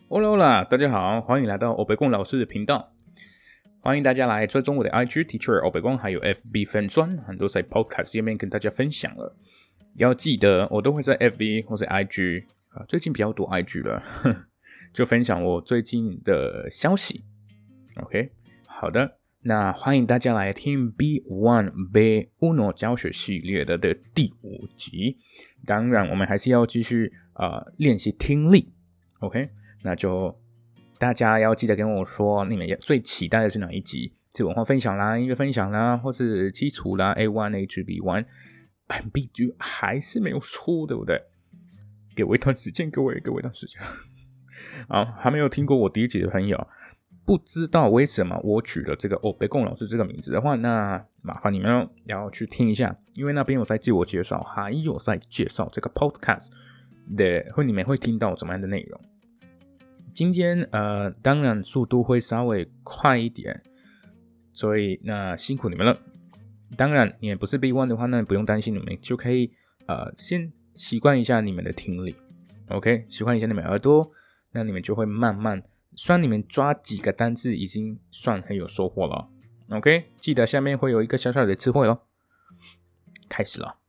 Hola，大家好，欢迎来到欧北贡老师的频道。欢迎大家来追踪我的 IG Teacher 欧北贡，还有 FB 粉专，很多在 Podcast 页面跟大家分享了。要记得，我都会在 FB 或者 IG 最近比较多 IG 了，就分享我最近的消息。OK， 好的，那欢迎大家来听 B1 B1 教学系列的第5集。当然，我们还是要继续练习听力。OK。那就大家要记得跟我说，你们最期待的是哪一集？是文化分享啦、音乐分享啦，或是基础啦 A1、A2、B1、B2 还是没有出，对不对？给我一段时间，给我一段时间。好，还没有听过我第一集的朋友，不知道为什么我取了这个欧北贡老师这个名字的话，那麻烦你们要去听一下，因为那边有在自我介绍，还有在介绍这个 podcast 的，你们会听到怎么样的内容。今天当然速度会稍微快一点，所以那辛苦你们了。当然你也不是 B1 的话，那不用担心，你们就可以先习惯一下你们的听力 ，OK， 习惯一下你们耳朵，那你们就会慢慢，算你们抓几个单字已经算很有收获了 ，OK， 记得下面会有一个小小的词汇咯。开始了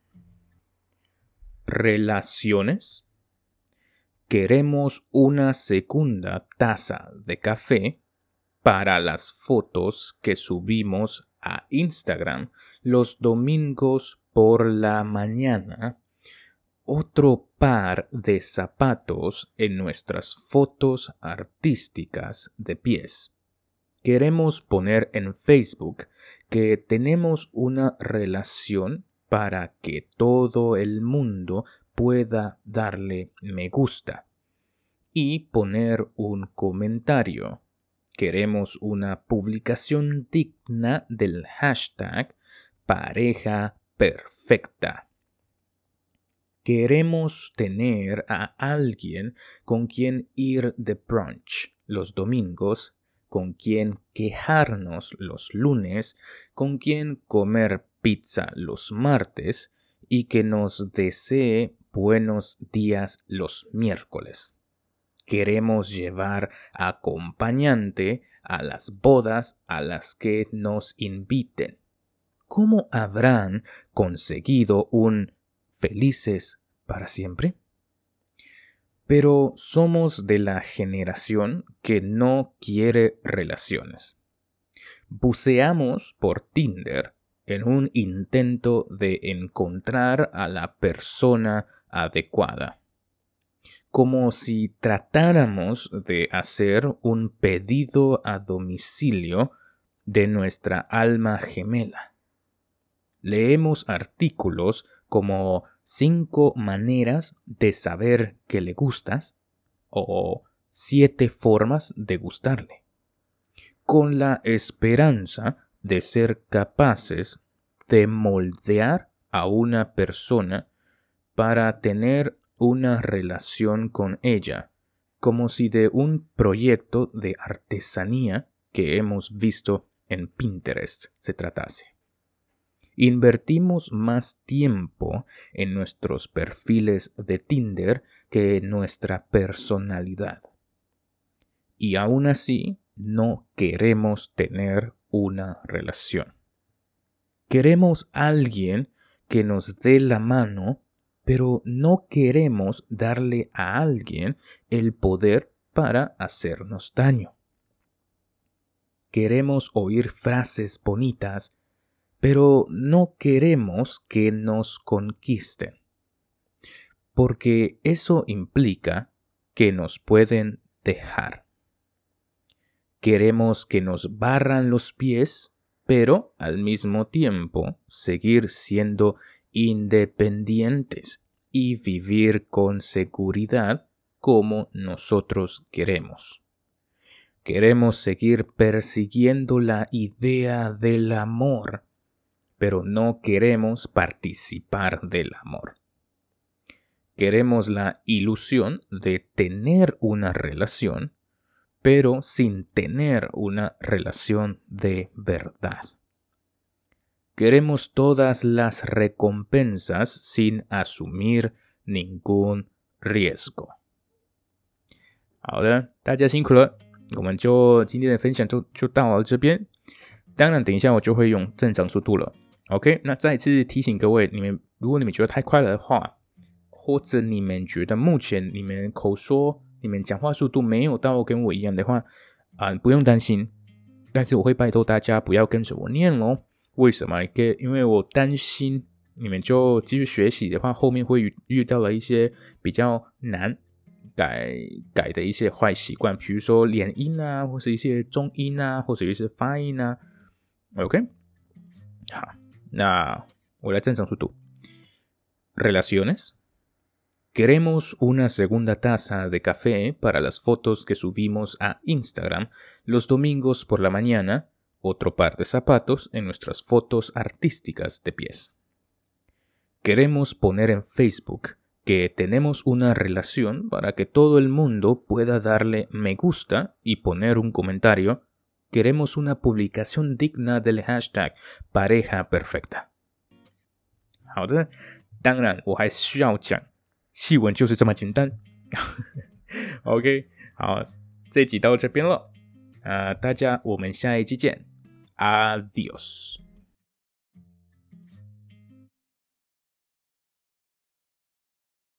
，Relaciones。Queremos una segunda taza de café para las fotos que subimos a Instagram los domingos por la mañana. Otro par de zapatos en nuestras fotos artísticas de pies. Queremos poner en Facebook que tenemos una relación para que todo el mundo pueda darle me gusta y poner un comentario. Queremos una publicación digna del hashtag pareja perfecta. Queremos tener a alguien con quien ir de brunch los domingos, con quien quejarnos los lunes, con quien comer pizza los martes y que nos desee buenos días los miércoles. Queremos llevar acompañante a las bodas a las que nos inviten. ¿Cómo habrán conseguido un felices para siempre? Pero somos de la generación que no quiere relaciones. Buceamos por Tinder en un intento de encontrar a la persona adecuada. Como si tratáramos de hacer un pedido a domicilio de nuestra alma gemela. Leemos artículos como 5 maneras de saber que le gustas o 7 formas de gustarle, con la esperanza de ser capaces de moldear a una persona para tener una relación con ella, como si de un proyecto de artesanía que hemos visto en Pinterest se tratase. Invertimos más tiempo en nuestros perfiles de Tinder que en nuestra personalidad. Y aún así, no queremos tener una relación. Queremos a alguien que nos dé la mano, pero no queremos darle a alguien el poder para hacernos daño. Queremos oír frases bonitas, pero no queremos que nos conquisten, porque eso implica que nos pueden dejar. Queremos que nos barran los pies, pero al mismo tiempo seguir siendo independientes y vivir con seguridad como nosotros queremos. Queremos seguir persiguiendo la idea del amor, pero no queremos participar del amor. Queremos la ilusión de tener una relación, pero sin tener una relación de verdad. Queremos todas las recompensas sin asumir ningún riesgo. 好的，大家辛苦了，我们就今天的分享就到了这边。当然，等一下我就会用正常速度了。OK， 那再次提醒各位，如果你们觉得太快了的话，或者你们觉得目前你们口说、你们讲话速度没有到跟我一样的话，不用担心。但是我会拜托大家不要跟着我念咯。为什么？因为我担心你们就继续学习的话，后面会遇到了一些比较难改的一些坏习惯，比如说连音啊，或是一些重音啊，或者一些发音啊。OK， 好，那我来正常速度。Relaciones. Queremos una segunda taza de café para las fotos que subimos a Instagram los domingos por la mañana, otro par de zapatos en nuestras fotos artísticas de pies. Queremos poner en Facebook que tenemos una relación para que todo el mundo pueda darle me gusta y poner un comentario. Queremos una publicación digna del hashtag pareja perfecta. 好的，当然我还需要讲，戏文就是这么简单。OK， 好，这集到这边了，大家我们下一集见 ，Adios。